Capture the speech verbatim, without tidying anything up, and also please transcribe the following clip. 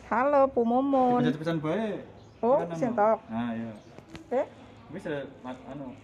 Halo, Bu Mumun. Pesan-pesan bae. Oh, sing tok. Nah, iya. Eh, Wis anu